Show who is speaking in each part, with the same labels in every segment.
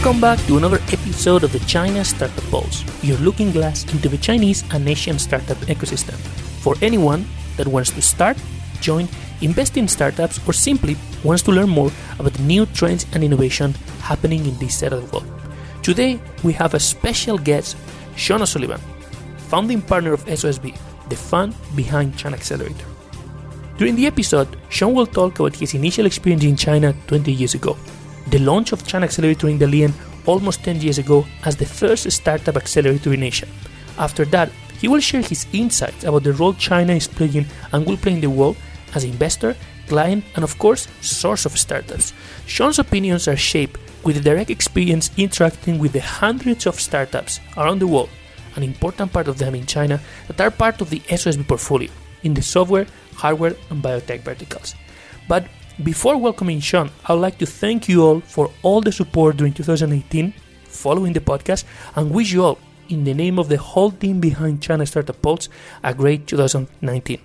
Speaker 1: Welcome back to another episode of the China Startup Pulse, your looking glass into the Chinese and Asian startup ecosystem. For anyone that wants to start, join, invest in startups, or simply wants to learn more about the new trends and innovation happening in this side of the world. Today, we have a special guest, Sean O'Sullivan, founding partner of SOSV, the fund behind China Accelerator. During the episode, Sean will talk about his initial experience in China 20 years ago, the launch of China Accelerator in Dalian almost 10 years ago as the first startup accelerator in Asia. After that, he will share his insights about the role China is playing and will play in the world as investor, client, and of course, source of startups. Sean's opinions are shaped with a direct experience interacting with the hundreds of startups around the world, an important part of them in China that are part of the SOSV portfolio in the software, hardware, and biotech verticals. But before welcoming Sean, I would like to thank you all for all the support during 2018 following the podcast and wish you all, in the name of the whole team behind China Startup Pulse, a great 2019.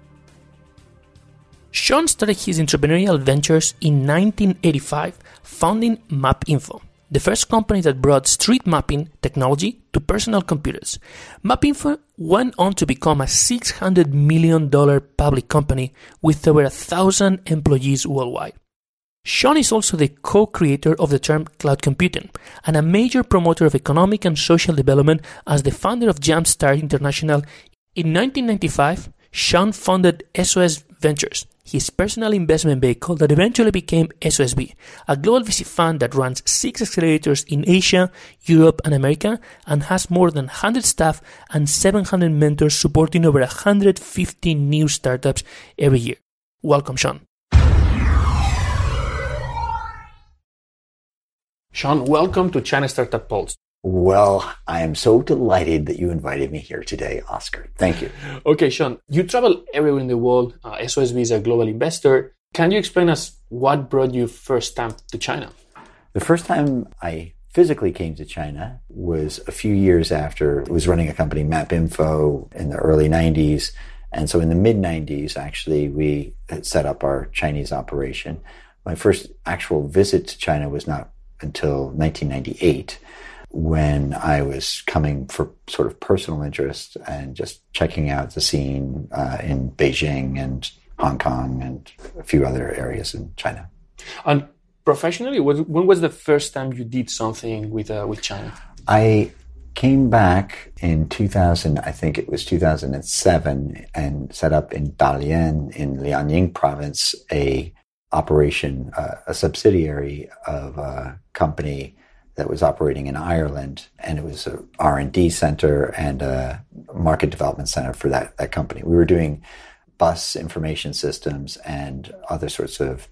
Speaker 1: Sean started his entrepreneurial ventures in 1985, founding MapInfo, the first company that brought street mapping technology to personal computers. MapInfo went on to become a $600 million public company with over 1,000 employees worldwide. Sean is also the co-creator of the term cloud computing and a major promoter of economic and social development as the founder of Jumpstart International. In 1995, Sean founded SOS Ventures, his personal investment vehicle that eventually became SOSV, a global VC fund that runs 6 accelerators in Asia, Europe, and America, and has more than 100 staff and 700 mentors supporting over 150 new startups every year. Welcome, Sean. Sean, welcome to China Startup Pulse.
Speaker 2: Well, I am so delighted that you invited me here today, Oscar. Thank you.
Speaker 1: Okay, Sean, you travel everywhere in the world. SOSV is a global investor. Can you explain us what brought you first time to China?
Speaker 2: The first time I physically came to China was a few years after I was running a company, MapInfo, in the early 90s. And so in the mid-90s, actually, we had set up our Chinese operation. My first actual visit to China was not until 1998. When I was coming for sort of personal interest and just checking out the scene in Beijing and Hong Kong and a few other areas in China.
Speaker 1: And professionally, when was the first time you did something with China?
Speaker 2: I came back in 2000, I think it was 2007, and set up in Dalian in Liaoning province a operation, a subsidiary of a company that was operating in Ireland, and it was a R&D center and a market development center for that company. We were doing bus information systems and other sorts of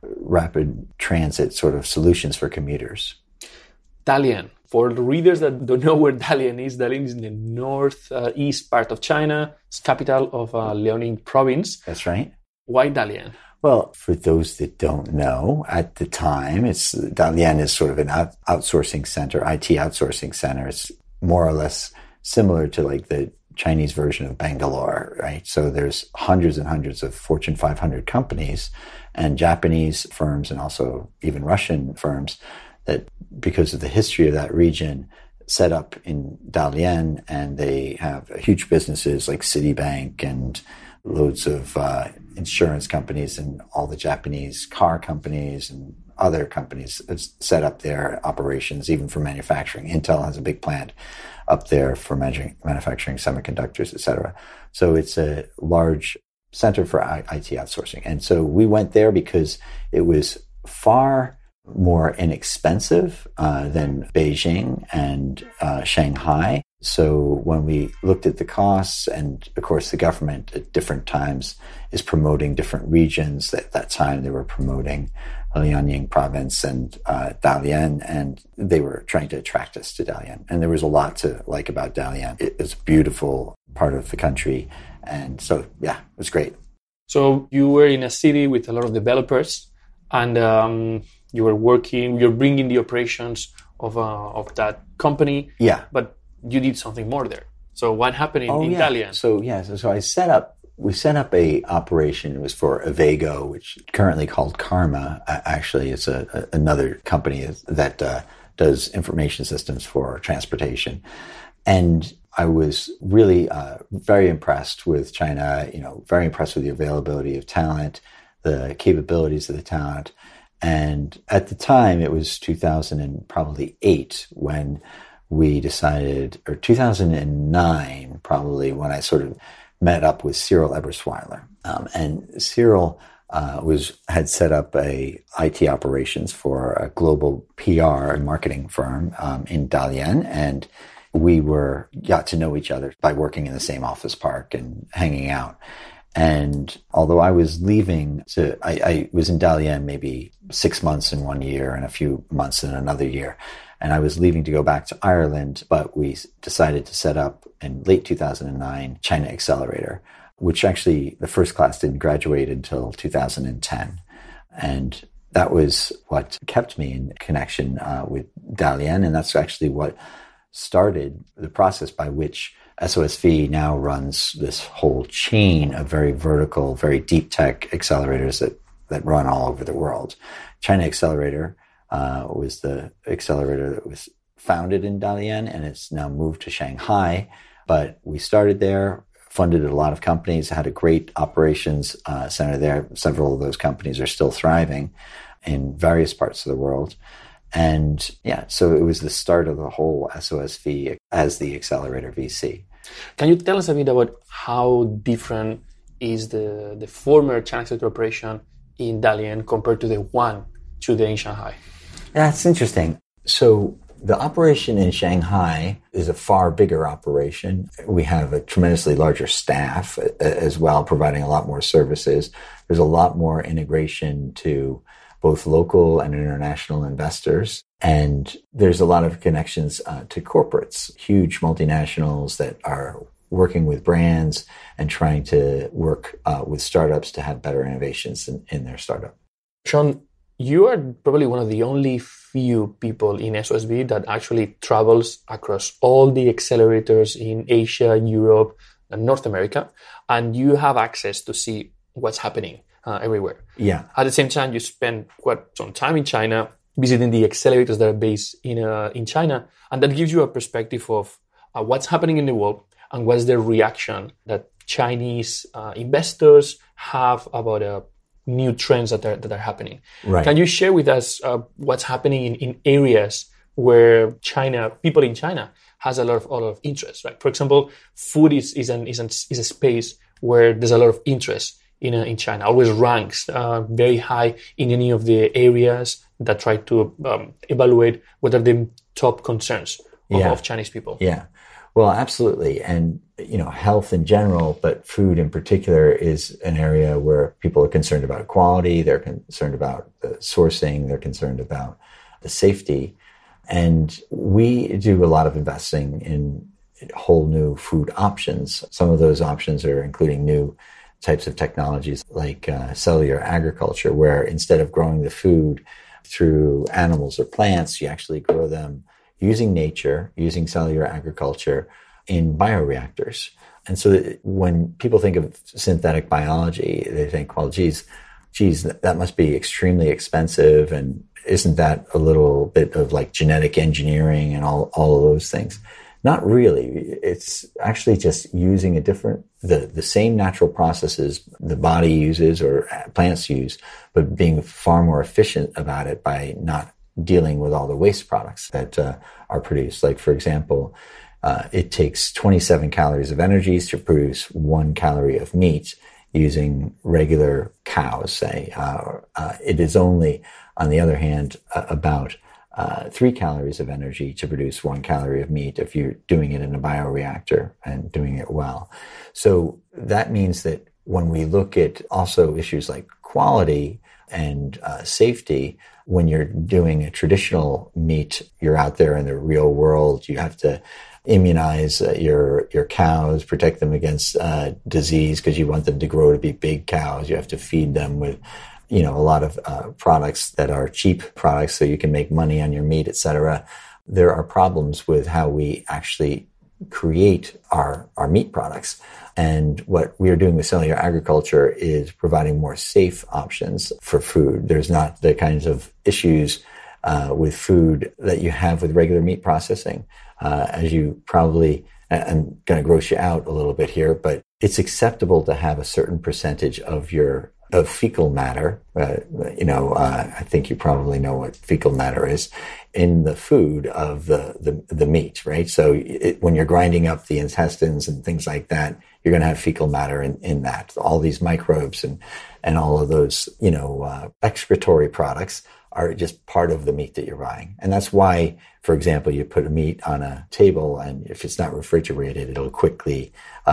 Speaker 2: rapid transit sort of solutions for commuters.
Speaker 1: Dalian. For the readers that don't know where Dalian is in the northeast part of China. It's capital of Liaoning province.
Speaker 2: That's right.
Speaker 1: Why Dalian?
Speaker 2: Well, for those that don't know, at the time, Dalian is sort of an outsourcing center, IT outsourcing center. It's more or less similar to like the Chinese version of Bangalore, right? So there's hundreds and hundreds of Fortune 500 companies and Japanese firms and also even Russian firms that, because of the history of that region, set up in Dalian, and they have huge businesses like Citibank and loads of insurance companies and all the Japanese car companies and other companies have set up their operations, even for manufacturing. Intel has a big plant up there for manufacturing semiconductors, etc. So it's a large center for IT outsourcing. And so we went there because it was far more inexpensive than Beijing and Shanghai. So when we looked at the costs, and of course the government at different times is promoting different regions. At that time they were promoting Liaoning province and Dalian, and they were trying to attract us to Dalian. And there was a lot to like about Dalian. It's a beautiful part of the country. And so, yeah, it was great.
Speaker 1: So you were in a city with a lot of developers, and you're bringing the operations of that company.
Speaker 2: Yeah.
Speaker 1: But you did something more there. So what happened in Dalian?
Speaker 2: So we set up a operation. It was for Avego, which currently called Karma. Actually, it's another company that does information systems for transportation. And I was really very impressed with China, very impressed with the availability of talent, the capabilities of the talent. And at the time, it was 2008 when we decided, or 2009 probably, when I sort of met up with Cyril Ebersweiler. And Cyril had set up a IT operations for a global PR and marketing firm in Dalian, and we got to know each other by working in the same office park and hanging out. And although I was leaving I was in Dalian maybe 6 months in 1 year and a few months in another year. And I was leaving to go back to Ireland, but we decided to set up in late 2009 China Accelerator, which actually the first class didn't graduate until 2010. And that was what kept me in connection with Dalian. And that's actually what started the process by which SOSV now runs this whole chain of very vertical, very deep tech accelerators that run all over the world. China Accelerator was the accelerator that was founded in Dalian, and it's now moved to Shanghai. But we started there, funded a lot of companies, had a great operations center there. Several of those companies are still thriving in various parts of the world. And so it was the start of the whole SOSV as the accelerator VC.
Speaker 1: Can you tell us a bit about how different is the former China Accelerator operation in Dalian compared to the one today in Shanghai?
Speaker 2: Yeah, it's interesting. So the operation in Shanghai is a far bigger operation. We have a tremendously larger staff as well, providing a lot more services. There's a lot more integration to both local and international investors. And there's a lot of connections to corporates, huge multinationals that are working with brands and trying to work with startups to have better innovations in their startup.
Speaker 1: Sean, you are probably one of the only few people in SOSV that actually travels across all the accelerators in Asia, Europe, and North America, and you have access to see what's happening everywhere.
Speaker 2: Yeah.
Speaker 1: At the same time, you spend quite some time in China visiting the accelerators that are based in China, and that gives you a perspective of what's happening in the world and what's the reaction that Chinese investors have about new trends that are happening.
Speaker 2: Right.
Speaker 1: Can you share with us what's happening in areas where people in China has a lot of interest, right? For example, food is a space where there's a lot of interest in China. Always ranks very high in any of the areas that try to evaluate what are the top concerns of Chinese people.
Speaker 2: Yeah. Well, absolutely. And, health in general, but food in particular is an area where people are concerned about quality. They're concerned about the sourcing. They're concerned about the safety. And we do a lot of investing in whole new food options. Some of those options are including new types of technologies like cellular agriculture, where instead of growing the food through animals or plants, you actually grow them using nature, using cellular agriculture in bioreactors. And so when people think of synthetic biology, they think, well, geez, that must be extremely expensive. And isn't that a little bit of like genetic engineering and all of those things? Not really. It's actually just using the same natural processes the body uses or plants use, but being far more efficient about it by not dealing with all the waste products that are produced. Like, for example, it takes 27 calories of energy to produce 1 calorie of meat using regular cows, say. It is only, on the other hand, about 3 calories of energy to produce 1 calorie of meat if you're doing it in a bioreactor and doing it well. So that means that when we look at also issues like quality and safety, when you're doing a traditional meat, you're out there in the real world, you have to immunize your cows, protect them against disease because you want them to grow to be big cows. You have to feed them with a lot of products that are cheap products so you can make money on your meat, etc. There are problems with how we actually create our meat products. And what we are doing with cellular agriculture is providing more safe options for food. There's not the kinds of issues with food that you have with regular meat processing. As you probably, I'm going to gross you out a little bit here, but it's acceptable to have a certain percentage of fecal matter. I think you probably know what fecal matter is in the food of the meat, right? So when you're grinding up the intestines and things like that, you're going to have fecal matter in that. All these microbes and all of those, excretory products are just part of the meat that you're buying. And that's why, for example, you put a meat on a table and if it's not refrigerated, it'll quickly,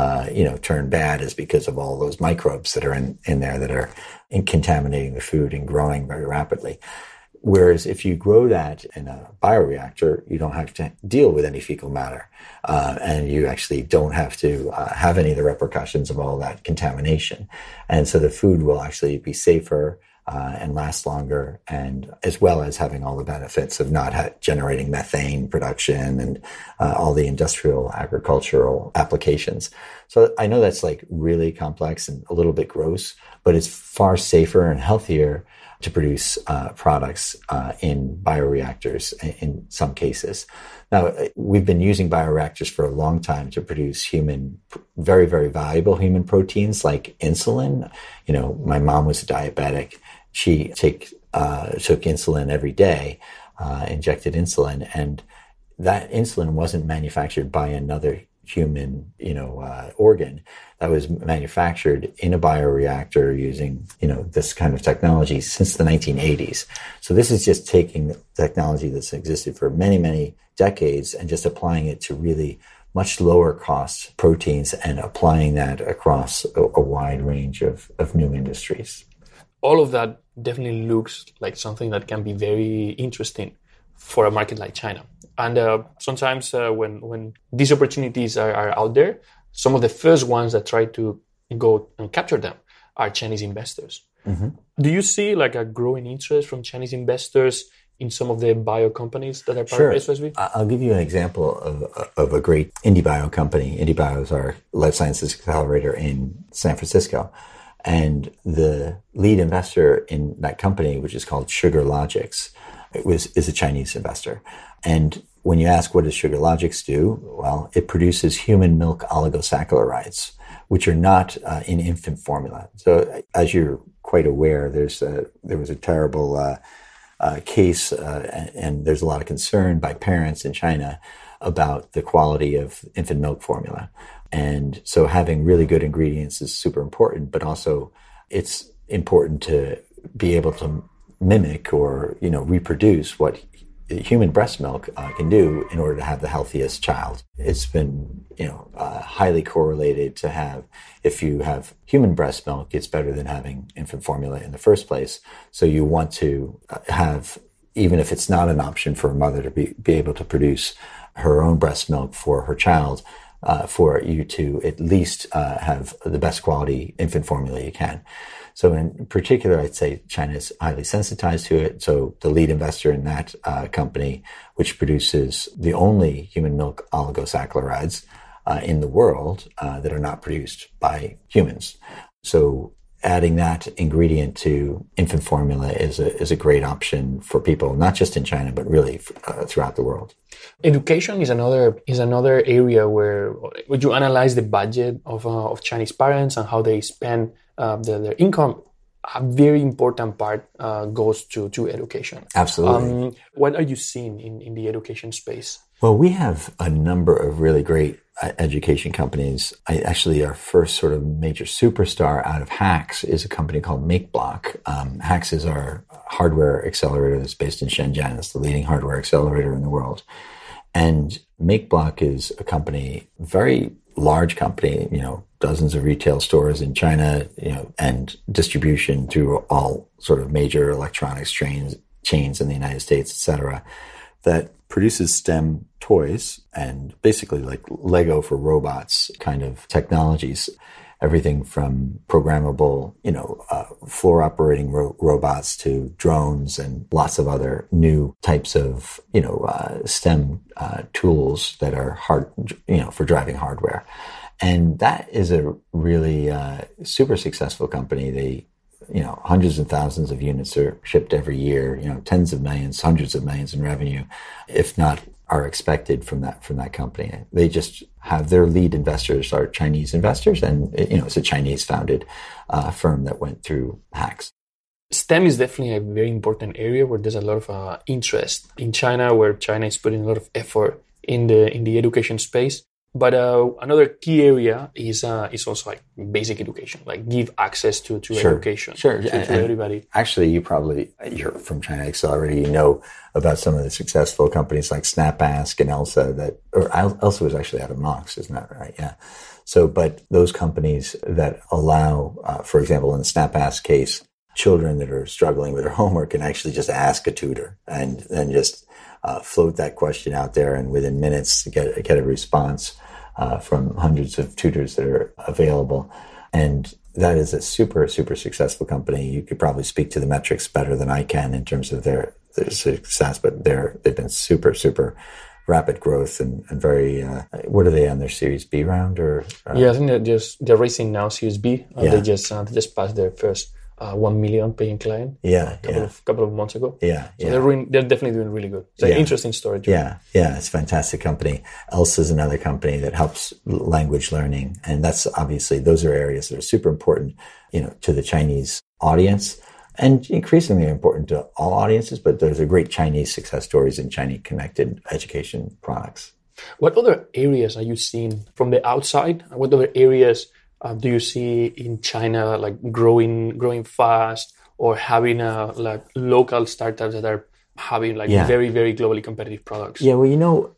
Speaker 2: turn bad, is because of all those microbes that are in there that are contaminating the food and growing very rapidly. Whereas if you grow that in a bioreactor, you don't have to deal with any fecal matter. And you actually don't have to have any of the repercussions of all that contamination. And so the food will actually be safer and last longer, and as well as having all the benefits of not generating methane production and all the industrial agricultural applications. So I know that's like really complex and a little bit gross, but it's far safer and healthier to produce products in bioreactors in some cases. Now, we've been using bioreactors for a long time to produce very, very valuable human proteins like insulin. My mom was a diabetic. She took insulin every day, injected insulin, and that insulin wasn't manufactured by another human, organ. That was manufactured in a bioreactor using, this kind of technology since the 1980s. So this is just taking the technology that's existed for many, many decades and just applying it to really much lower cost proteins and applying that across a wide range of new industries.
Speaker 1: All of that definitely looks like something that can be very interesting for a market like China. And sometimes when these opportunities are out there, some of the first ones that try to go and capture them are Chinese investors. Mm-hmm. Do you see like a growing interest from Chinese investors in some of the bio companies that are part of SOSV?
Speaker 2: I'll give you an example of a great IndieBio company. IndieBio is our life sciences accelerator in San Francisco. And the lead investor in that company, which is called SugarLogix, is a Chinese investor. And when you ask what does SugarLogix do, well, it produces human milk oligosaccharides, which are not in infant formula. So as you're quite aware, there was a terrible case, and there's a lot of concern by parents in China about the quality of infant milk formula. And so having really good ingredients is super important, but also it's important to be able to mimic or, reproduce what human breast milk can do in order to have the healthiest child. It's been, highly correlated to have, if you have human breast milk, it's better than having infant formula in the first place. So you want to have, even if it's not an option for a mother to be able to produce her own breast milk for her child, for you to at least have the best quality infant formula you can. So in particular, I'd say China is highly sensitized to it. So the lead investor in that company, which produces the only human milk oligosaccharides in the world that are not produced by humans. So adding that ingredient to infant formula is a great option for people, not just in China, but really throughout the world.
Speaker 1: Education is another area where would you analyze the budget of Chinese parents and how they spend their income. A very important part goes to education.
Speaker 2: Absolutely.
Speaker 1: What are you seeing in the education space?
Speaker 2: Well, we have a number of really great education companies. Our first sort of major superstar out of HAX is a company called MakeBlock. HAX is our hardware accelerator that's based in Shenzhen. It's the leading hardware accelerator in the world. And MakeBlock is a company, very large company, dozens of retail stores in China, and distribution through all sort of major electronics chains in the United States, et cetera, that produces STEM toys and basically like Lego for robots kind of technologies. Everything from programmable, floor operating robots to drones and lots of other new types of, STEM tools that are hard, for driving hardware. And that is a really super successful company. They, hundreds of thousands of units are shipped every year, tens of millions, hundreds of millions in revenue, if not are expected from that company. They just have their lead investors are Chinese investors, and it's a Chinese founded firm that went through HAX.
Speaker 1: STEM is definitely a very important area where there's a lot of interest in China, where China is putting a lot of effort in the education space. But another key area is also like basic education, like give access to education to everybody.
Speaker 2: Actually, you're from China Accelerator, you know about some of the successful companies like SnapAsk and Elsa Elsa was actually out of Mox, isn't that right? Yeah. So, but those companies that allow, for example, in the SnapAsk case, children that are struggling with their homework can actually just ask a tutor and then just float that question out there, and within minutes get a response from hundreds of tutors that are available. And that is a super, super successful company. You could probably speak to the metrics better than I can in terms of their success, but they've been super, super rapid growth and very, what are they on their Series B round or?
Speaker 1: Yeah, I think they're raising now Series B. They just passed their first 1 million paying client. Couple of months ago.
Speaker 2: So
Speaker 1: they're definitely doing really good. It's an interesting story too.
Speaker 2: It's a fantastic company. Elsa is another company that helps language learning, and that's obviously those are areas that are super important, to the Chinese audience, and increasingly important to all audiences. But there's a great Chinese success stories in Chinese connected education products.
Speaker 1: What other areas are you seeing from the outside? What other areas do you see in China like growing fast, or having like local startups that are having very, very globally competitive products?
Speaker 2: Yeah, well,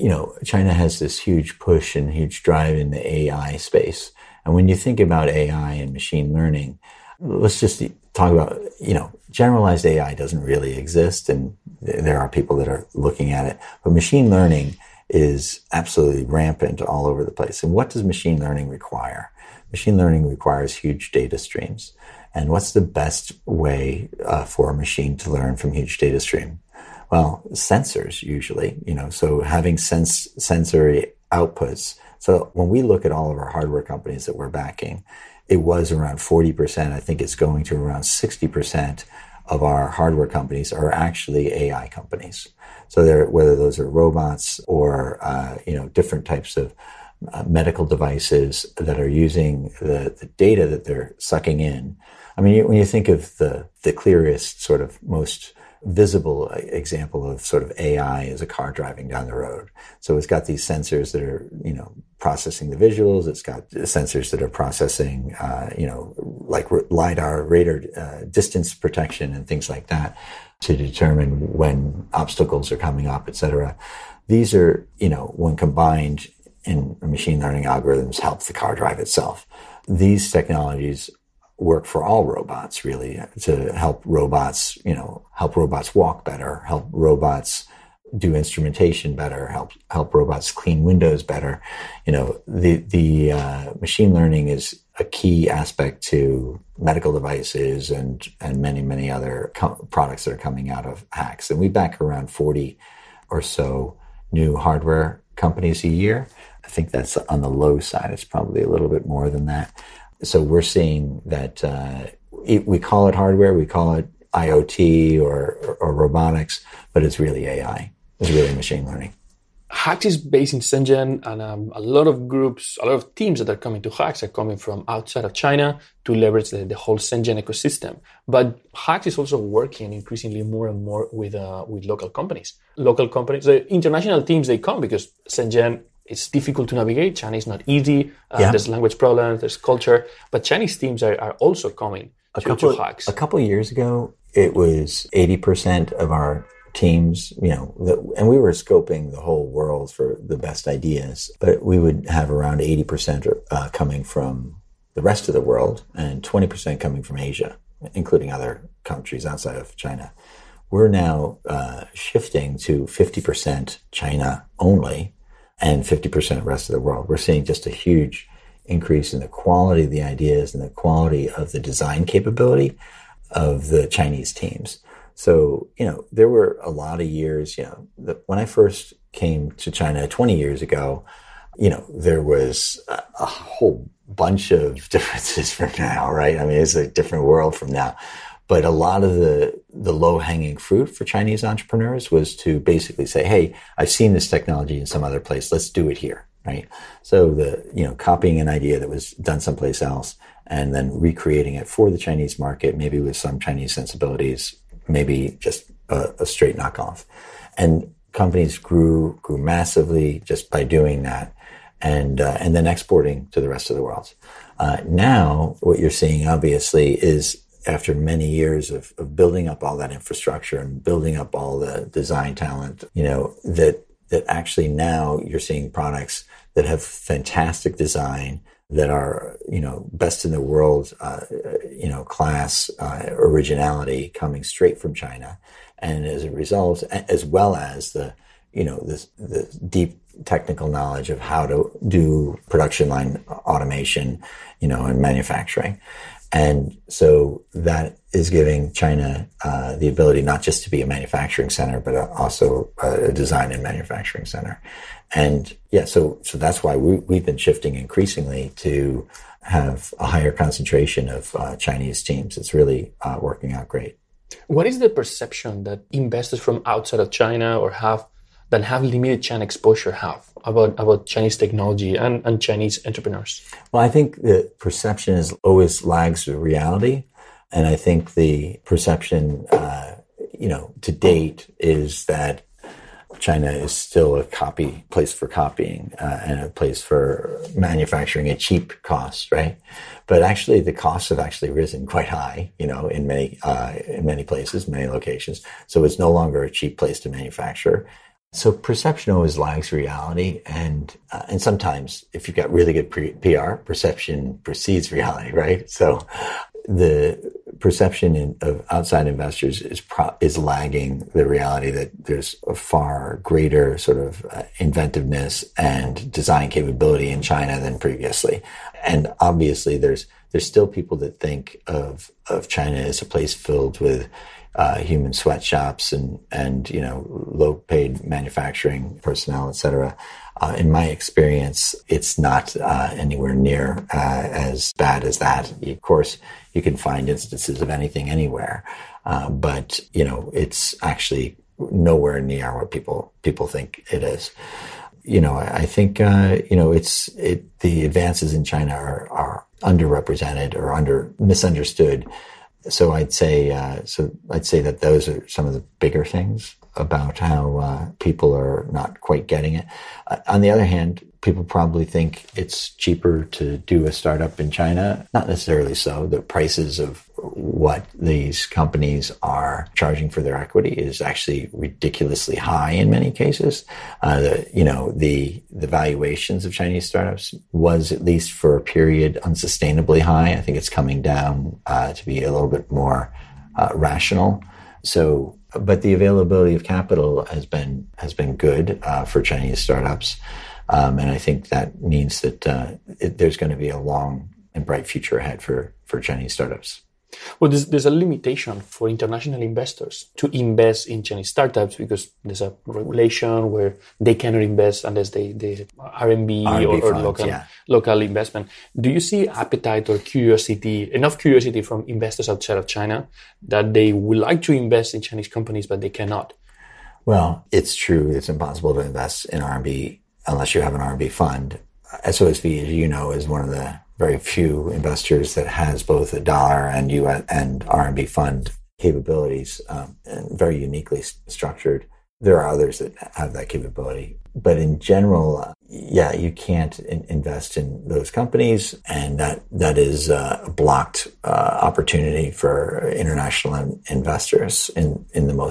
Speaker 2: China has this huge push and huge drive in the AI space. And when you think about AI and machine learning, let's just talk about, generalized AI doesn't really exist, and there are people that are looking at it. But machine learning is absolutely rampant all over the place. And what does machine learning require? Machine learning requires huge data streams. And what's the best way for a machine to learn from huge data stream? Well, sensors usually, so having sensory outputs. So when we look at all of our hardware companies that we're backing, it was around 40%. I think it's going to around 60% of our hardware companies are actually AI companies. So whether those are robots or, different types of medical devices that are using the data that they're sucking in. I mean, when you think of the clearest, sort of most visible example of sort of AI is a car driving down the road. So it's got these sensors that are, processing the visuals. It's got sensors that are processing, like LiDAR, radar, distance protection and things like that to determine when obstacles are coming up, et cetera. These are, when combined in machine learning algorithms, help the car drive itself. These technologies work for all robots, really, to help robots walk better, help robots do instrumentation better, help robots clean windows better. The machine learning is a key aspect to medical devices and many, many other products that are coming out of HAX. And we back around 40 or so new hardware companies a year. I think that's on the low side. It's probably a little bit more than that. So we're seeing that we call it hardware, we call it IoT or robotics, but it's really AI. It's really machine learning.
Speaker 1: HAX is based in Shenzhen, and a lot of teams that are coming to HAX are coming from outside of China to leverage the whole Shenzhen ecosystem. But HAX is also working increasingly more and more with local companies. The international teams, they come because Shenzhen, it's difficult to navigate. China is not easy. There's language problems, there's culture. But Chinese teams are also coming to HAX.
Speaker 2: A couple of years ago, it was 80% of our teams, and we were scoping the whole world for the best ideas, but we would have around 80% coming from the rest of the world and 20% coming from Asia, including other countries outside of China. We're now shifting to 50% China only and 50% rest of the world. We're seeing just a huge increase in the quality of the ideas and the quality of the design capability of the Chinese teams. So, there were a lot of years, when I first came to China 20 years ago, there was a whole bunch of differences from now, right? I mean, it's a different world from now. But a lot of the low-hanging fruit for Chinese entrepreneurs was to basically say, hey, I've seen this technology in some other place. Let's do it here, right? So copying an idea that was done someplace else and then recreating it for the Chinese market, maybe with some Chinese sensibilities, maybe just a straight knockoff. And companies grew massively just by doing that, and then exporting to the rest of the world. Now, what you're seeing, obviously, is after many years of building up all that infrastructure and building up all the design talent, that actually now you're seeing products that have fantastic design, that are, best in the world, class, originality coming straight from China. And as a result, as well as the deep technical knowledge of how to do production line automation, and manufacturing. And so that is giving China the ability not just to be a manufacturing center, but also a design and manufacturing center. And so that's why we've been shifting increasingly to have a higher concentration of Chinese teams. It's really working out great.
Speaker 1: What is the perception that investors from outside of China or have limited China exposure have about Chinese technology and Chinese entrepreneurs?
Speaker 2: Well, I think the perception always lags the reality. And I think the perception, to date is that China is still a place for copying and a place for manufacturing at cheap costs, right? But actually, the costs have actually risen quite high, in many places, many locations. So it's no longer a cheap place to manufacture. So perception always lags reality, and sometimes if you've got really good PR, perception precedes reality, right? So the perception of outside investors is lagging the reality that there's a far greater sort of inventiveness and design capability in China than previously. And obviously there's still people that think of China as a place filled with human sweatshops and low paid manufacturing personnel, et cetera. In my experience, it's not anywhere near as bad as that. Of course, you can find instances of anything anywhere, but it's actually nowhere near what people think it is. I think the advances in China are underrepresented or misunderstood. So I'd say that those are some of the bigger things about how people are not quite getting it. On the other hand, people probably think it's cheaper to do a startup in China. Not necessarily so. The prices of what these companies are charging for their equity is actually ridiculously high in many cases. The valuations of Chinese startups was, at least for a period, unsustainably high. I think it's coming down to be a little bit more rational. So, but the availability of capital has been good for Chinese startups, and I think that means that there's going to be a long and bright future ahead for Chinese startups.
Speaker 1: Well, there's a limitation for international investors to invest in Chinese startups because there's a regulation where they cannot invest unless they RMB or local investment. Do you see appetite or enough curiosity from investors outside of China that they would like to invest in Chinese companies, but they cannot?
Speaker 2: Well, it's true. It's impossible to invest in RMB unless you have an RMB fund. SOSV, as you know, is one of the very few investors that has both a dollar and US and RMB fund capabilities, and very uniquely structured. There are others that have that capability, but in general, you can't invest in those companies, and that is a blocked opportunity for international investors in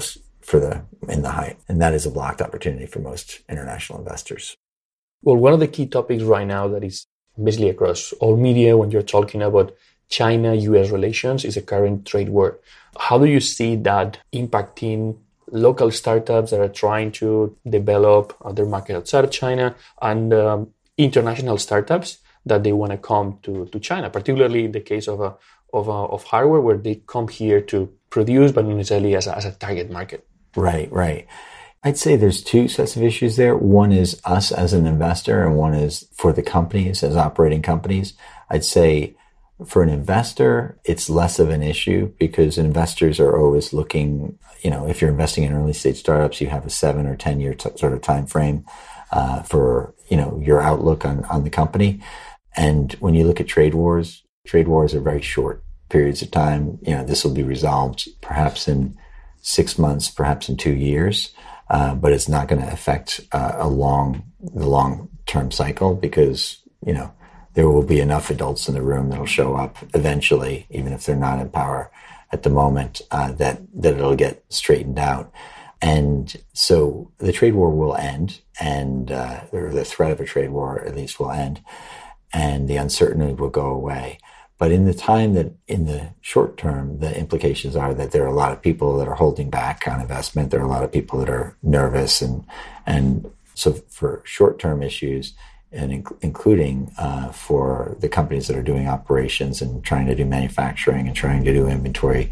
Speaker 2: the height, and that is a blocked opportunity for most international investors.
Speaker 1: Well, one of the key topics right now that is basically across all media when you're talking about China-US relations is a current trade war. How do you see that impacting local startups that are trying to develop their market outside of China and international startups that they want to come to China, particularly in the case of hardware where they come here to produce, but not necessarily as a target market?
Speaker 2: Right. I'd say there's two sets of issues there. One is us as an investor, and one is for the companies as operating companies. I'd say for an investor, it's less of an issue because investors are always looking, if you're investing in early stage startups, you have a 7 or 10 year sort of time frame for, your outlook on the company. And when you look at trade wars are very short periods of time. This will be resolved perhaps in 6 months, perhaps in 2 years. But it's not going to affect the long-term cycle because, there will be enough adults in the room that'll show up eventually, even if they're not in power at the moment, that it'll get straightened out. And so the trade war will end, or the threat of a trade war at least will end, and the uncertainty will go away. But in the short term, the implications are that there are a lot of people that are holding back on investment. There are a lot of people that are nervous. And so for short-term issues, and including for the companies that are doing operations and trying to do manufacturing and trying to do inventory,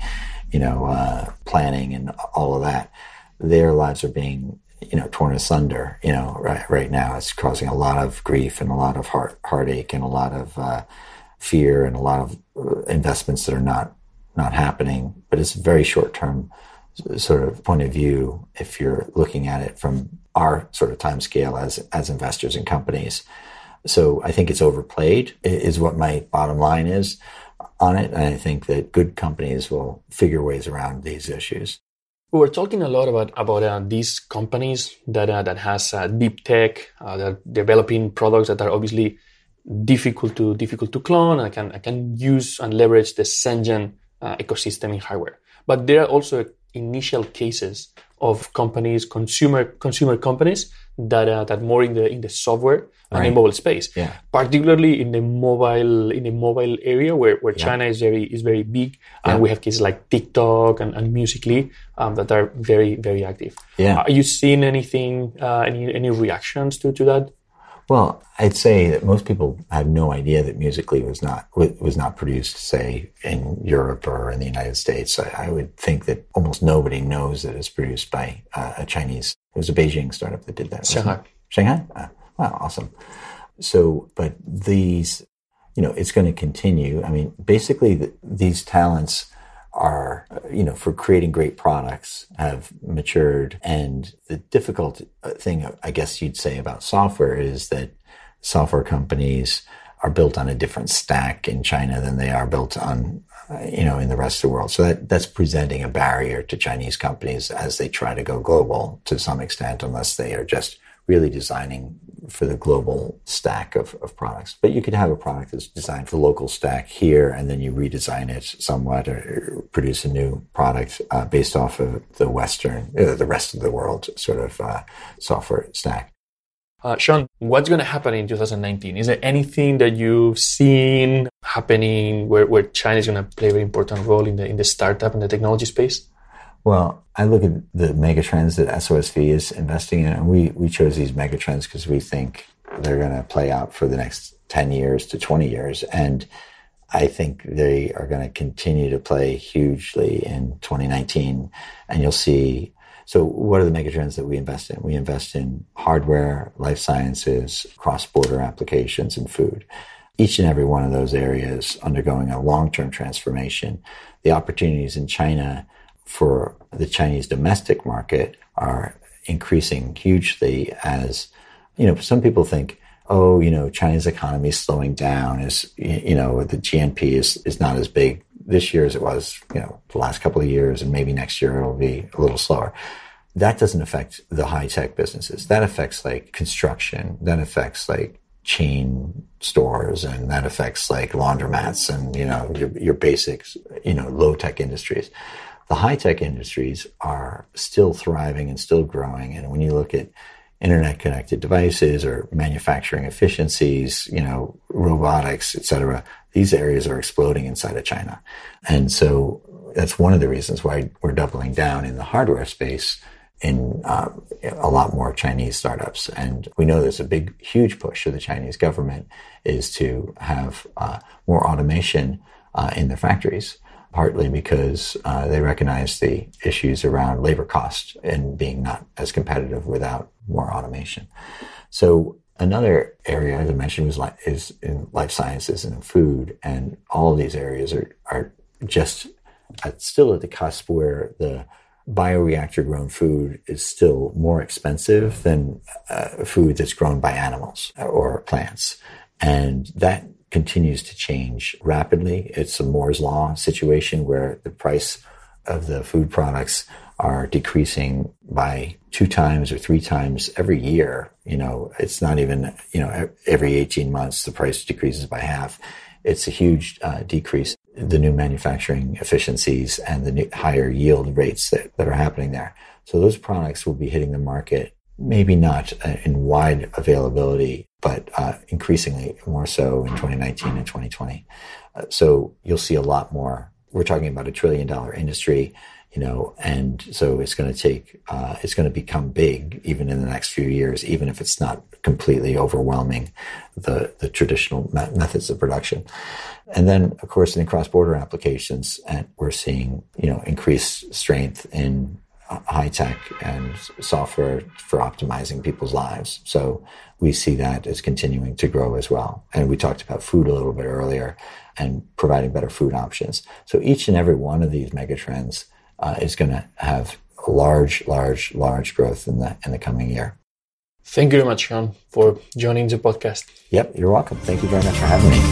Speaker 2: planning and all of that, their lives are being, torn asunder, right now. It's causing a lot of grief and a lot of heartache and a lot of fear and a lot of investments that are not happening. But it's a very short-term sort of point of view if you're looking at it from our sort of time scale as investors in companies. So I think it's overplayed is what my bottom line is on it. And I think that good companies will figure ways around these issues.
Speaker 1: We were talking a lot about these companies that has deep tech, that are developing products that are obviously difficult to clone and can use and leverage the Shenzhen ecosystem in hardware. But there are also initial cases of companies, consumer companies that more in the software and in mobile space, particularly in the mobile area where China is very big, and we have cases like TikTok and Musical.ly that are very, very active. Are you seeing anything, any reactions to that?
Speaker 2: Well, I'd say that most people have no idea that Musical.ly was not produced, say, in Europe or in the United States. I would think that almost nobody knows that it's produced by a Chinese. It was a Beijing startup that did that. Shanghai? Wow, awesome. So, but these, it's going to continue. I mean, basically, these talents are, for creating great products have matured. And the difficult thing, I guess you'd say about software is that software companies are built on a different stack in China than they are built on, in the rest of the world. So that's presenting a barrier to Chinese companies as they try to go global to some extent, unless they are just really designing for the global stack of products. But you could have a product that's designed for the local stack here, and then you redesign it somewhat or produce a new product based off of the rest of the world sort of software stack.
Speaker 1: Sean, what's going to happen in 2019? Is there anything that you've seen happening where China is going to play a very important role in the startup and the technology space?
Speaker 2: Well, I look at the megatrends that SOSV is investing in, and we chose these megatrends because we think they're going to play out for the next 10 years to 20 years. And I think they are going to continue to play hugely in 2019. And you'll see, so what are the megatrends that we invest in? We invest in hardware, life sciences, cross-border applications, and food. Each and every one of those areas undergoing a long-term transformation. The opportunities in China for the Chinese domestic market are increasing hugely as, some people think, China's economy is slowing down, the GNP is not as big this year as it was, the last couple of years, and maybe next year it'll be a little slower. That doesn't affect the high-tech businesses. That affects like construction, that affects like chain stores, and that affects like laundromats and, your basics, low-tech industries. The high-tech industries are still thriving and still growing. And when you look at internet-connected devices or manufacturing efficiencies, robotics, et cetera, these areas are exploding inside of China. And so that's one of the reasons why we're doubling down in the hardware space in a lot more Chinese startups. And we know there's a huge push of the Chinese government is to have more automation in their factories. partly because they recognize the issues around labor cost and being not as competitive without more automation. So another area, as I mentioned, is in life sciences and in food, and all of these areas are just still at the cusp where the bioreactor grown food is still more expensive than food that's grown by animals or plants. And that continues to change rapidly. It's a Moore's Law situation where the price of the food products are decreasing by 2 times or 3 times every year. It's not even, every 18 months, the price decreases by half. It's a huge decrease. The new manufacturing efficiencies and the new higher yield rates that are happening there. So those products will be hitting the market, maybe not in wide availability, but increasingly more so in 2019 and 2020. So you'll see a lot more. We're talking about $1 trillion industry, and so it's going to become big even in the next few years, even if it's not completely overwhelming the traditional methods of production. And then, of course, in cross-border applications, and we're seeing, increased strength in high tech and software for optimizing people's lives. So we see that as continuing to grow as well. And we talked about food a little bit earlier and providing better food options. So each and every one of these megatrends is going to have large growth in the coming year.
Speaker 1: Thank you very much, Sean, for joining the podcast.
Speaker 2: Yep, you're welcome. Thank you very much for having me.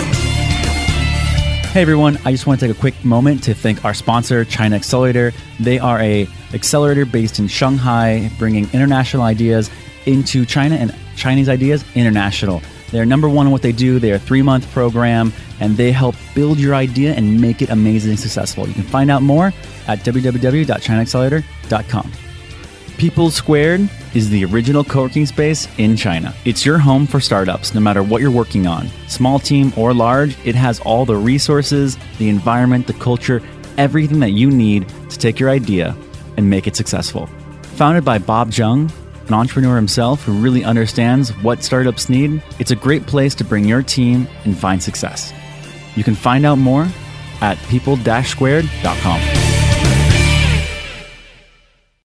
Speaker 3: Hey everyone, I just want to take a quick moment to thank our sponsor, China Accelerator. They are an accelerator based in Shanghai, bringing international ideas into China and Chinese ideas international. They're number one in what they do. They're a 3-month program, and they help build your idea and make it amazingly successful. You can find out more at www.chinaaccelerator.com. People Squared is the original co-working space in China. It's your home for startups, no matter what you're working on. Small team or large, it has all the resources, the environment, the culture, everything that you need to take your idea and make it successful. Founded by Bob Jung, an entrepreneur himself who really understands what startups need, it's a great place to bring your team and find success. You can find out more at people-squared.com.